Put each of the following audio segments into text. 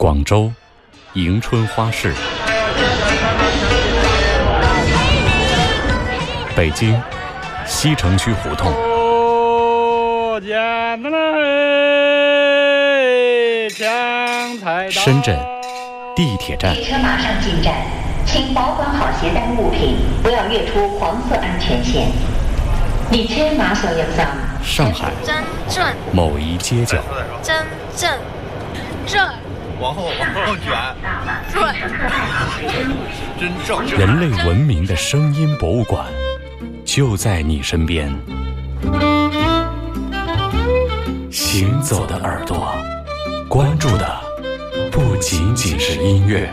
广州迎春花市，北京西城区胡同，深圳地铁站。 列车马上进站，请保管好携带物品，不要越出黄色安全线。列车马上入站。 上海真正某一街角， 真正正往后卷， 对， 真正人类文明的声音博物馆就在你身边。行走的耳朵，关注的不仅仅是音乐。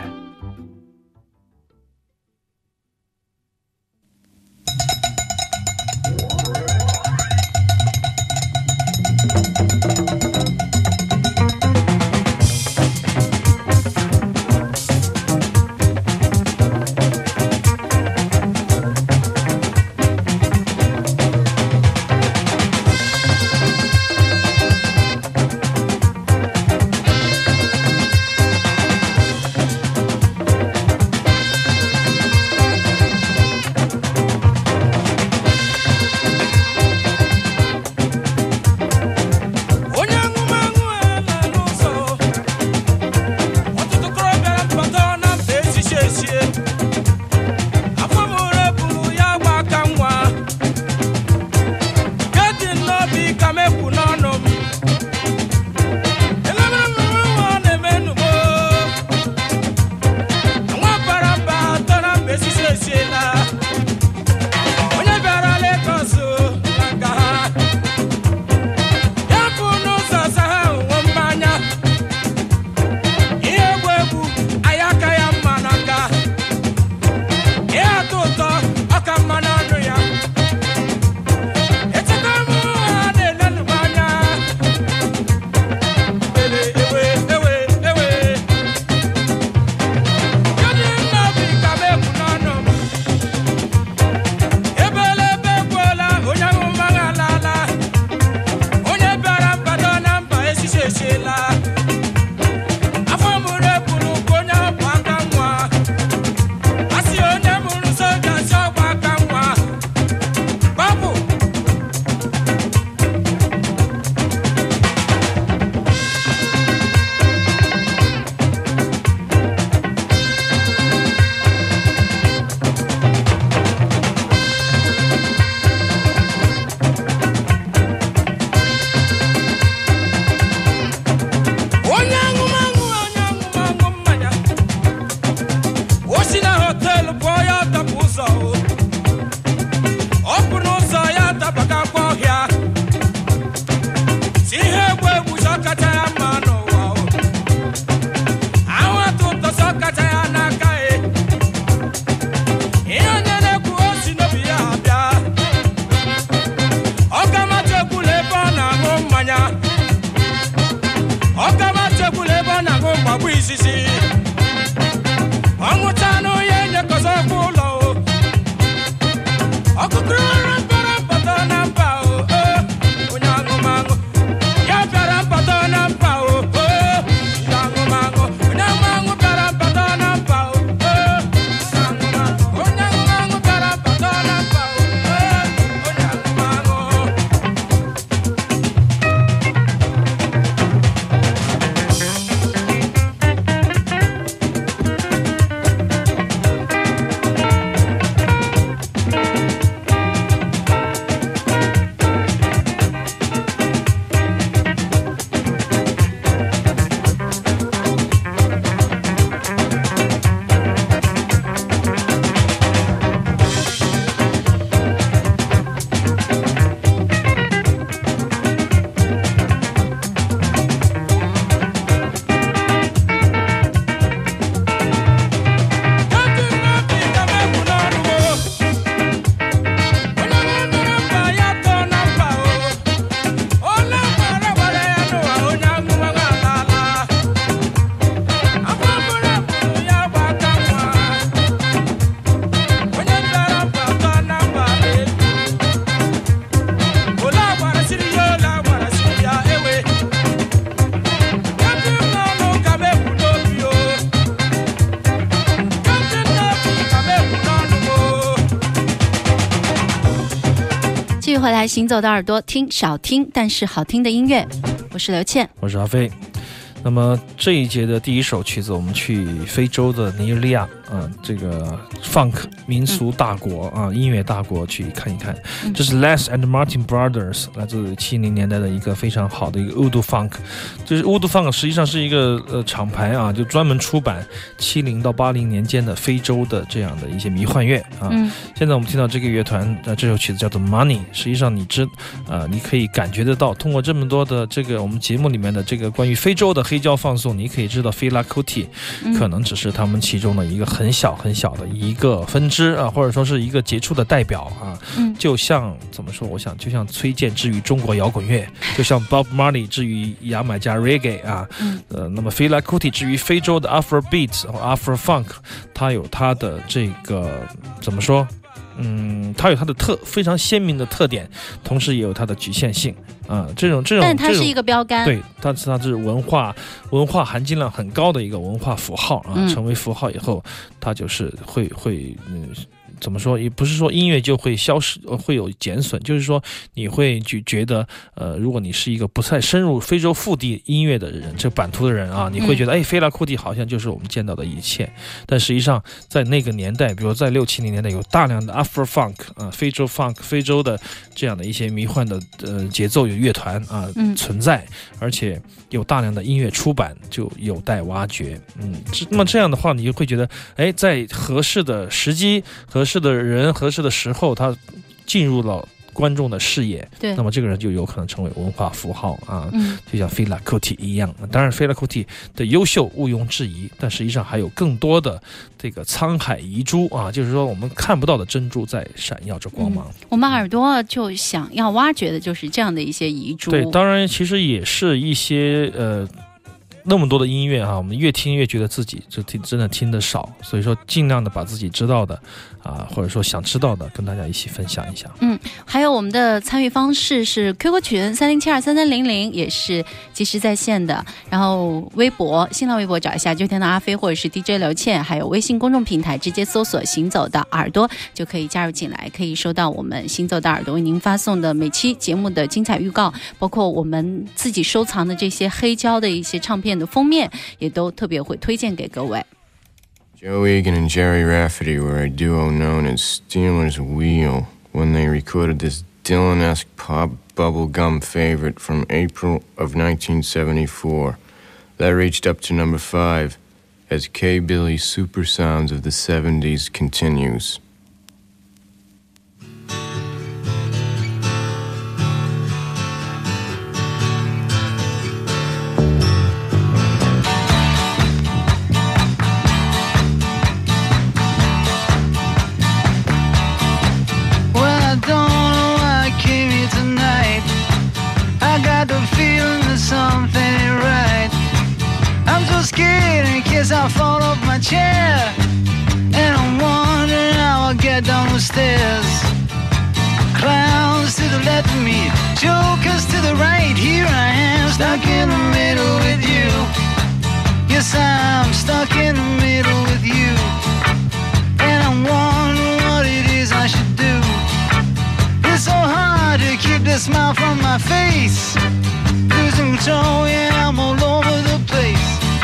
回来，行走的耳朵听少听但是好听的音乐，我是刘倩， 我是阿飞。那么这一节的第一首曲子，我们去非洲的尼日利亚，这个 funk 民俗大国音乐大国去看一看。这是 Les and Martin Brothers 来自70年代的一个非常好的一个 Voodoo Funk。就是 Voodoo Funk 实际上是一个厂牌就专门出版70到80年间的非洲的这样的一些迷幻乐现在我们听到这个乐团这首曲子叫做 Money， 实际上你可以感觉得到，通过这么多的这个我们节目里面的这个关于非洲的黑胶放送，你可以知道 Fela Kuti 可能只是他们其中的一个很小很小的一个分支或者说是一个杰出的代表就像怎么说，我想就像崔健之于中国摇滚乐，就像 Bob Marley 之于牙买加 Reggae 那么 Fela Kuti 之于非洲的 Afrobeat 或 Afro Funk， 它有它的这个怎么说它有它的非常鲜明的特点，同时也有它的局限性这种但它是一个标杆， 对，它是文化含金量很高的一个文化符号成为符号以后，它就是会怎么说，也不是说音乐就会消失，会有减损，就是说你会觉得如果你是一个不太深入非洲腹地音乐的人，这版图的人你会觉得菲拉库蒂好像就是我们见到的一切，但实际上在那个年代，比如在60-70年代，有大量的 Afro Funk 非洲 Funk 非洲的这样的一些迷幻的节奏有乐团存在，而且有大量的音乐出版，就有待挖掘那么这样的话，你就会觉得在合适的时机、合适的人、合适的时候，他进入了观众的视野，对，那么这个人就有可能成为文化符号就像Fela Kuti一样。当然Fela Kuti的优秀毋庸置疑，但实际上还有更多的这个沧海遗珠就是说我们看不到的珍珠在闪耀着光芒我们耳朵就想要挖掘的就是这样的一些遗珠。 对，当然其实也是一些那么多的音乐我们越听越觉得自己真的听得少，所以说尽量的把自己知道的或者说想知道的跟大家一起分享一下。 还有我们的参与方式是 QQ 群30723300，也是即时在线的，然后新浪微博找一下就天的阿飞或者是 DJ 刘倩，还有微信公众平台直接搜索行走的耳朵就可以加入进来，可以收到我们行走的耳朵为您发送的每期节目的精彩预告，包括我们自己收藏的这些黑胶的一些唱片的封面也都特别会推荐给各位。 Joe Egan and Jerry Rafferty were a duo known as Steelers Wheel when they recorded this Dylan-esque pop bubblegum favorite from April of 1974 that reached up to number 5 as K-Billy's Super Sounds of the 70s continues. I'll fall off my chair, and I'm wondering how I'll get down the stairs. Clowns to the left of me, jokers to the right. Here I am, stuck in the middle with you. Yes, I'm stuck in the middle with you, and I'm wondering what it is I should do. It's so hard to keep the smile from my face. Losing control, yeah, I'm all over the place.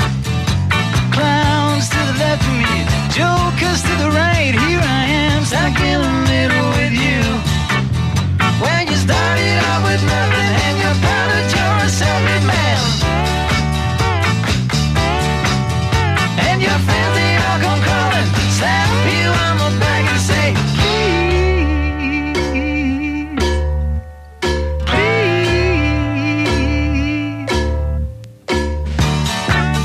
Clowns to the left of me, jokers to the right. Here I am, stuck in the middle with you. When you started out with nothing and you found that you're a self-made man, and your friends they all come crawling, slap you on the back and say, please, please.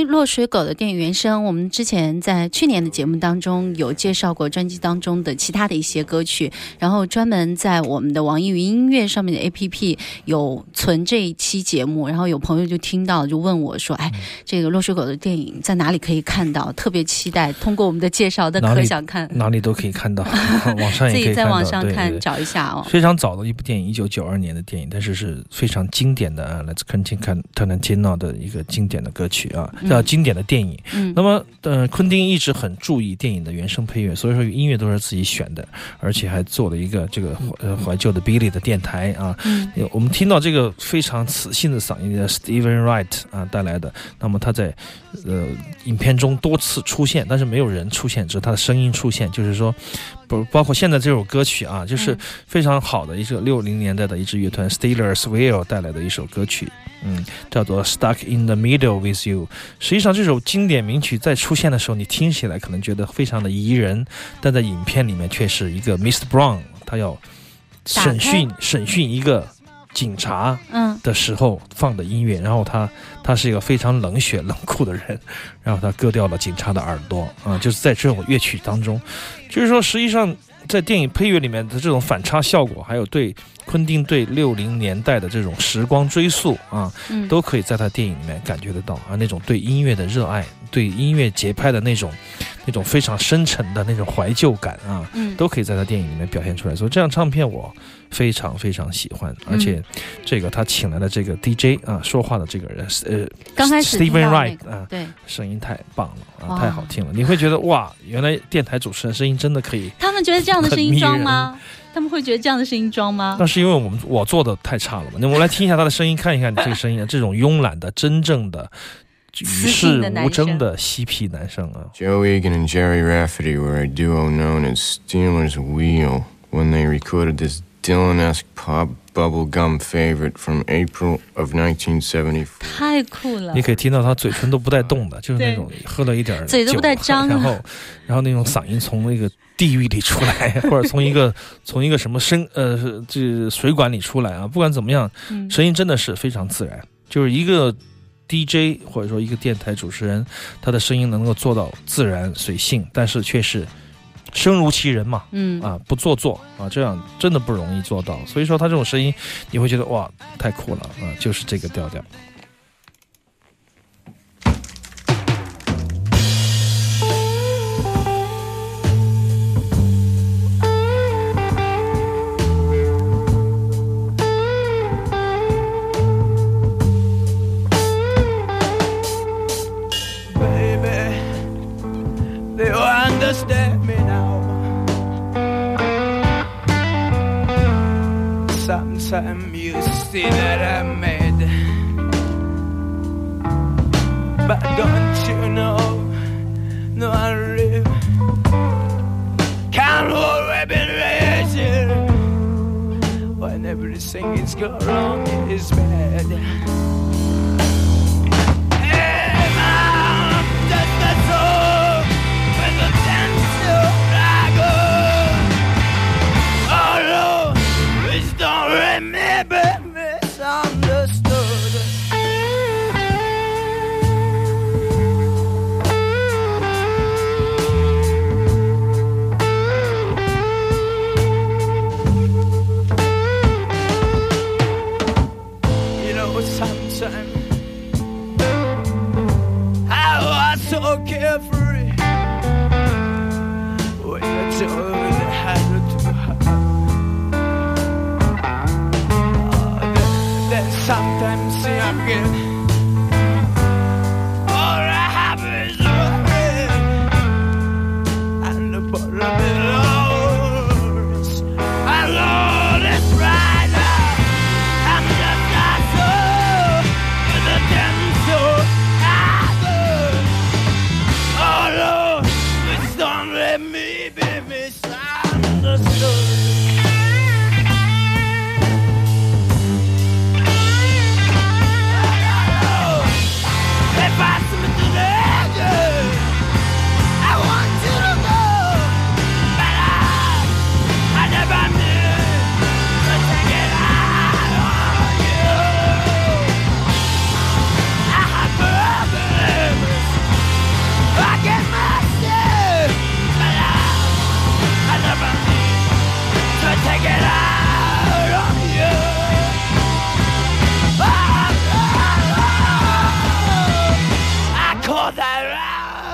于落水狗的电影原声，我们之前在去年的节目当中有介绍过专辑当中的其他的一些歌曲，然后专门在我们的网易云音乐上面的 APP 有存这一期节目，然后有朋友就听到就问我说，哎，这个落水狗的电影在哪里可以看到？特别期待通过我们的介绍的可想看， 哪里都可以看到，网上也可以看到，自己在网上看， 对对， 找一下哦。 非常早的一部电影，1992年的电影，但是是非常经典的来自Tarantino的一个经典的歌曲啊，经典的电影。那么昆汀一直很注意电影的原声配乐，所以说音乐都是自己选的，而且还做了一个这个怀旧的 Billy 的电台啊。我们听到这个非常磁性的嗓音的 Steven Wright 啊带来的，那么他在影片中多次出现，但是没有人出现，只是他的声音出现，就是说包括现在这首歌曲啊，就是非常好的一个60年代的一支乐团 Steelers Will 带来的一首歌曲，叫做 Stuck in the Middle with You。 实际上这首经典名曲在出现的时候，你听起来可能觉得非常的宜人，但在影片里面却是一个 Mr. Brown 他要审讯一个警察的时候放的音乐，然后他是一个非常冷血冷酷的人，然后他割掉了警察的耳朵啊，就是在这种乐曲当中，就是说实际上在电影配乐里面的这种反差效果，还有对昆汀对60年代的这种时光追溯啊，都可以在他电影里面感觉得到啊，那种对音乐的热爱，对音乐节拍的那种非常深沉的那种怀旧感啊，都可以在他电影里面表现出来。所以这张唱片我非常非常喜欢，而且这个他请来的这个 DJ 啊，说话的这个人刚开始 Steven Wright 啊， 对， 声音太棒了啊，太好听了，你会觉得哇，原来电台主持人声音真的可以。 他们觉得这样的声音装吗？他们会觉得这样的声音装吗？ 那是因为我做的太差了嘛。那我们来听一下他的声音，看一看你这个声音，这种慵懒的、真正的、与世无争的嬉皮男生啊。 Joe Egan and Jerry Rafferty were a duo known as Steelers Wheel when they recorded this Dylan-esque pop bubblegum favorite from April of 1974. 太酷了！ 你可以听到他嘴唇都不带动的，就是那种喝了一点酒， 嘴都不带张， 然后那种嗓音从那个地狱里出来，或者从一个什么这水管里出来啊，不管怎么样，声音真的是非常自然，就是一个 DJ 或者说一个电台主持人，他的声音能够做到自然随性，但是却是声如其人嘛，不做作啊，这样真的不容易做到。所以说他这种声音，你会觉得哇，太酷了啊，就是这个调调。 Understand me now. Sometimes you see that I made, but don't you know? No, I live. Can't hold weapon raising when everything is going wrong. It is bad. Remember misunderstood. You know, sometimes I was so carefree when I told you how to have. Sometimes see I'm good. All I have is worry, and the bottom is lost. My Lord is right now. I'm just not so with a damn soul. I go. Oh,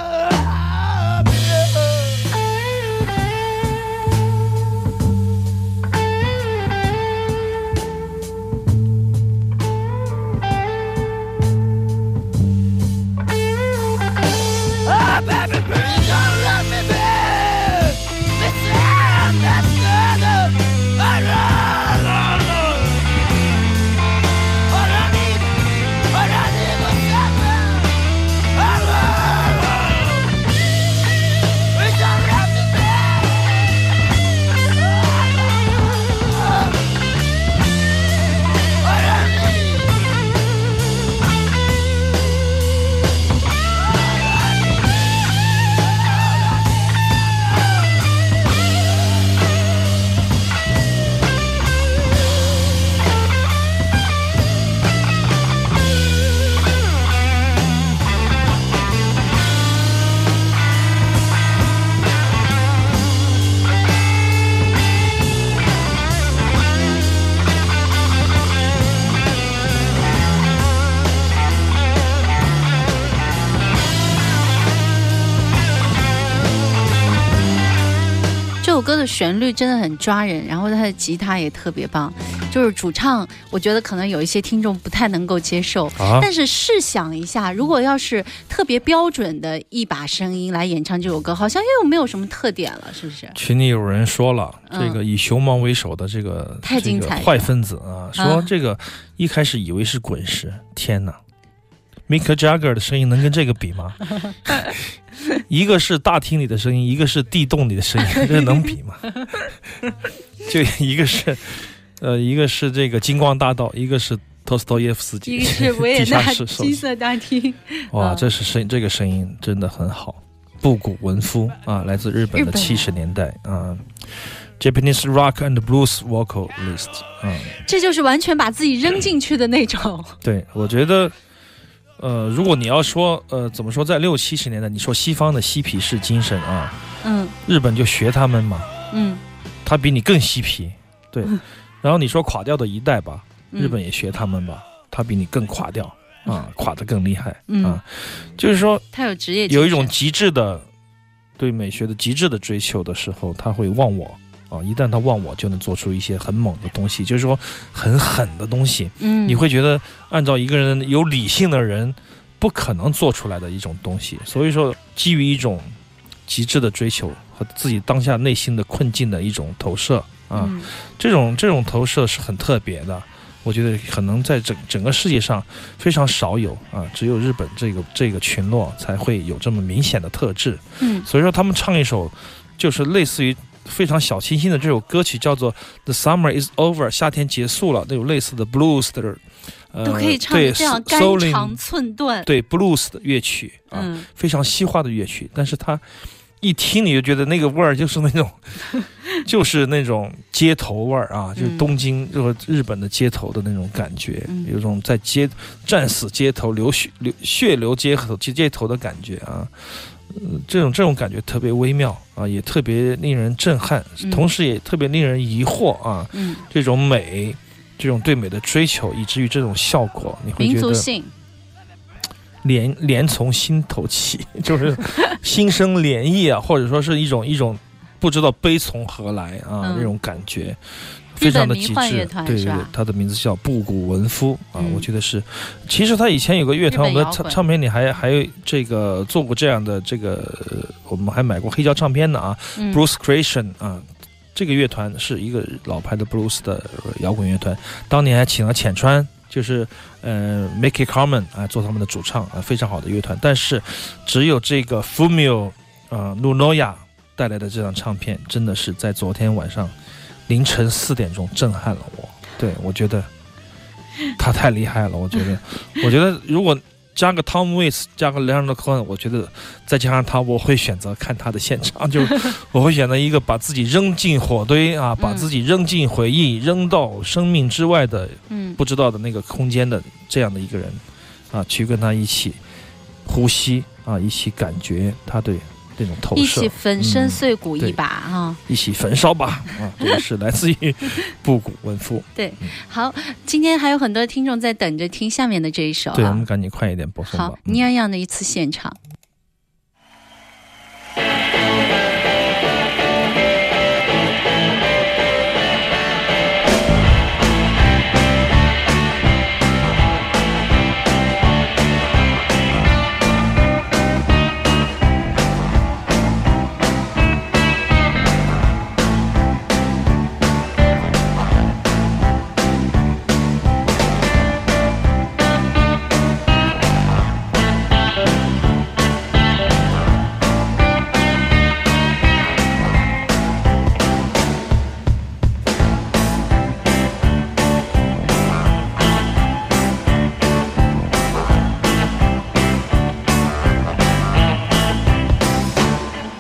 这首歌的旋律真的很抓人，然后它的吉他也特别棒，就是主唱我觉得可能有一些听众不太能够接受，但是试想一下，如果要是特别标准的一把声音来演唱这首歌，好像又没有什么特点了，是不是？ 群里有人说了，这个以熊猫为首的这个太精彩了， 坏分子啊，说这个一开始以为是滚石，天哪，Mick Jagger 的声音能跟这个比吗？一个是大厅里的声音，一个是地洞里的声音，这能比吗？就一个是这个金光大道，一个是托斯托耶夫斯基， 一个是维也纳金色大厅。 哇，这个声音真的很好，布谷文夫啊，来自日本的70年代啊。Japanese rock and blues vocalist 啊， 这就是完全把自己扔进去的那种。 对，我觉得。如果你要说怎么说，在60、70年代，你说西方的嬉皮士精神啊，日本就学他们嘛，他比你更嬉皮，对。然后你说垮掉的一代吧，日本也学他们吧，他比你更垮掉啊，垮得更厉害啊。就是说， 他有职业， 有一种极致的对美学的极致的追求的时候，他会忘我。一旦他忘我，就能做出一些很猛的东西，就是说很狠的东西。你会觉得按照一个人有理性的人不可能做出来的一种东西。所以说，基于一种极致的追求和自己当下内心的困境的一种投射啊，这种投射是很特别的。我觉得可能在整个世界上非常少有啊，只有日本这个群落才会有这么明显的特质。所以说他们唱一首就是类似于。非常小清新的这首歌曲叫做 The Summer is Over， 夏天结束了，那种类似的 blues 的都可以唱得这样肝肠寸断， 对 blues 的乐曲非常西化的乐曲，但是它一听你就觉得那个味儿就是那种就是那种街头味儿啊，就是东京就是日本的街头的那种感觉，有种在战死街头血流街头的感觉啊。这种感觉特别微妙啊，也特别令人震撼，同时也特别令人疑惑啊。这种美，这种对美的追求，以至于这种效果，你会觉得民族性连从心头起，就是心生涟漪啊，或者说是一种不知道悲从何来啊那种感觉。非常的极致，对，他的名字叫布谷文夫啊，我觉得是。其实他以前有个乐团，我们的唱片里还有这个做过这样的这个，我们还买过黑胶唱片的啊，Blues Creation 啊，这个乐团是一个老牌的 blues 的摇滚乐团，当年还请了浅川，就是Mickey Carmen 啊做他们的主唱啊，非常好的乐团。但是只有这个 Fumio Nunoya 带来的这张唱片，真的是在昨天晚上。凌晨4点钟震撼了我，对，我觉得他太厉害了。我觉得如果加个 Tom Waits 加个 Leonard Cohen， 我觉得再加上他，我会选择看他的现场，就我会选择一个把自己扔进火堆啊，把自己扔进回忆，扔到生命之外的不知道的那个空间的这样的一个人啊，去跟他一起呼吸啊，一起感觉他对。这种投射， 一起粉身碎骨一把啊！ 一起焚烧吧啊！这个是来自于布谷文夫。 对，好，今天还有很多听众在等着听下面的这一首， 对，我们赶紧快一点播送吧。 好，尼亚样的一次现场。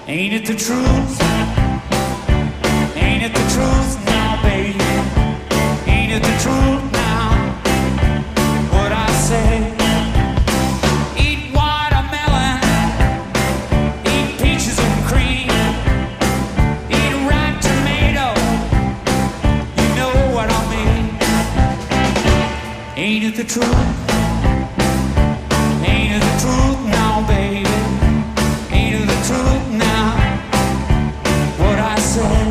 Ain't it the truth? Ain't it the truth now, baby? Ain't it the truth now? What I say? Eat watermelon, eat peaches and cream, eat ripe tomato. You know what I mean? Ain't it the truth? Ain't it the truth now, baby? Ain't it the truth now? What I say?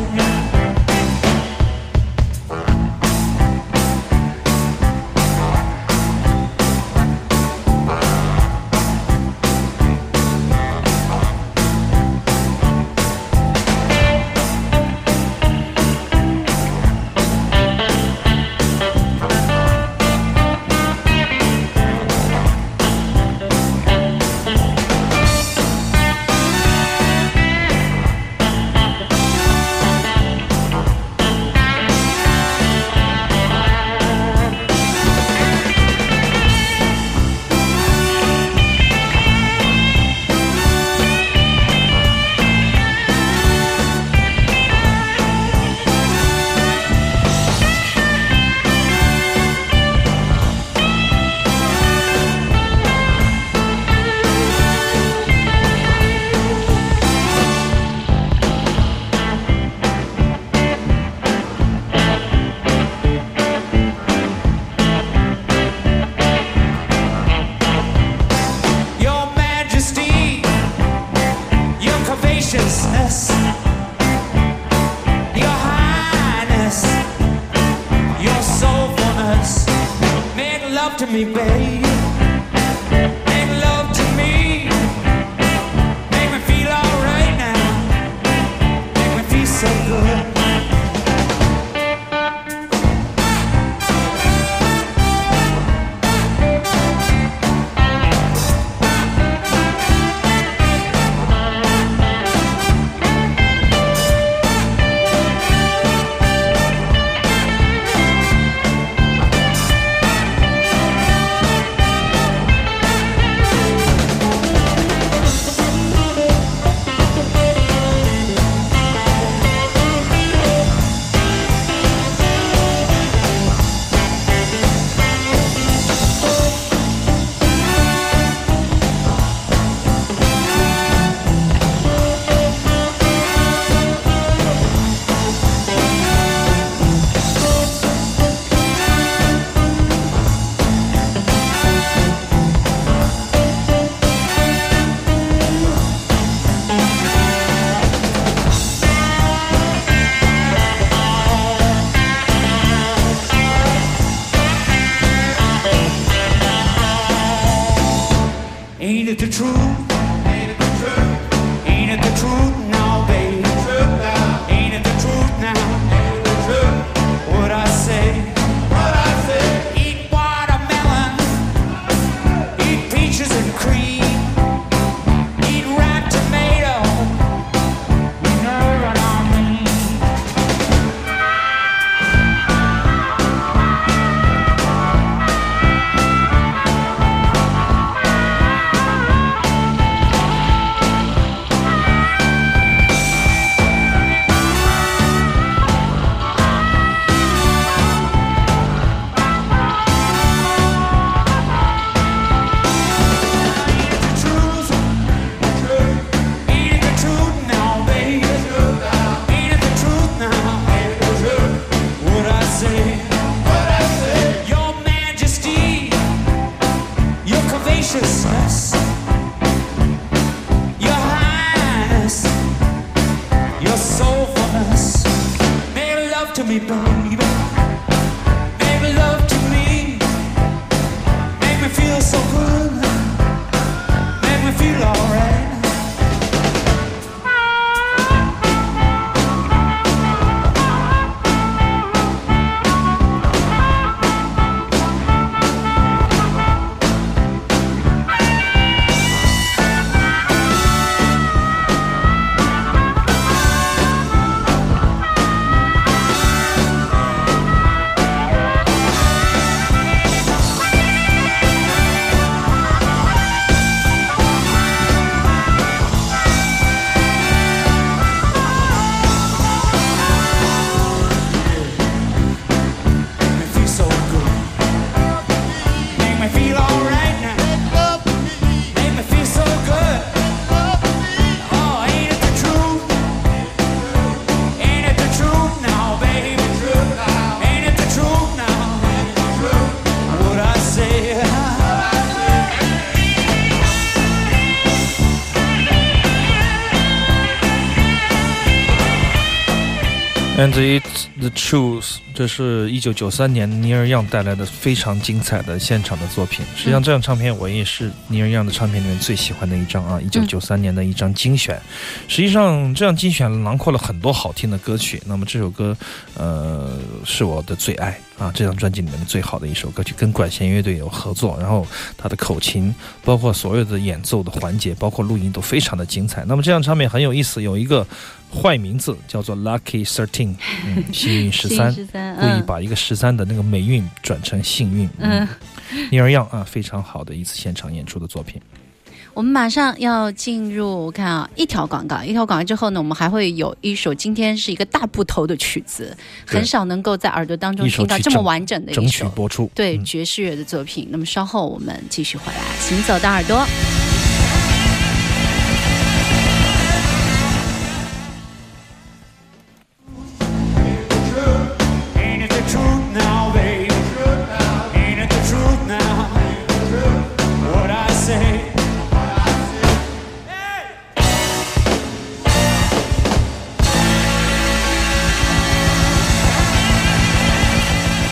Your highness, your soulfulness, make love to me, babe. Make love to me. Make me feel alright now. Make me feel so good. Ain't it the truth? Ain't it the truth? Ain't it the truth now, baby? Ain't it the truth now? Ain't it the truth? What I say? What I say? Eat watermelon, eat peaches and cream, eat ripe tomato. You know what I mean? Your highness, your soulfulness, make love to me, baby. Make love to me. Make me feel so good. Make me feel alright. And it's the truth， 这是1993年尼尔杨带来的非常精彩的现场的作品。实际上，这张唱片我也是尼尔杨的唱片里面最喜欢的一张啊，1993年的一张精选。实际上，这样精选囊括了很多好听的歌曲。那么这首歌，是我的最爱啊，这张专辑里面的最好的一首歌曲，跟管弦乐队有合作，然后他的口琴，包括所有的演奏的环节，包括录音都非常的精彩。那么这张唱片很有意思，有一个坏名字叫做 Lucky 13，幸运13，故意把一个13的那个霉运转成幸运。尼尔杨啊，非常好的一次现场演出的作品。 我们马上要进入看啊一条广告之后呢，我们还会有一首今天是一个大部头的曲子，很少能够在耳朵当中听到这么完整的一首整曲播出， 对爵士乐的作品。那么稍后我们继续回来，行走的耳朵。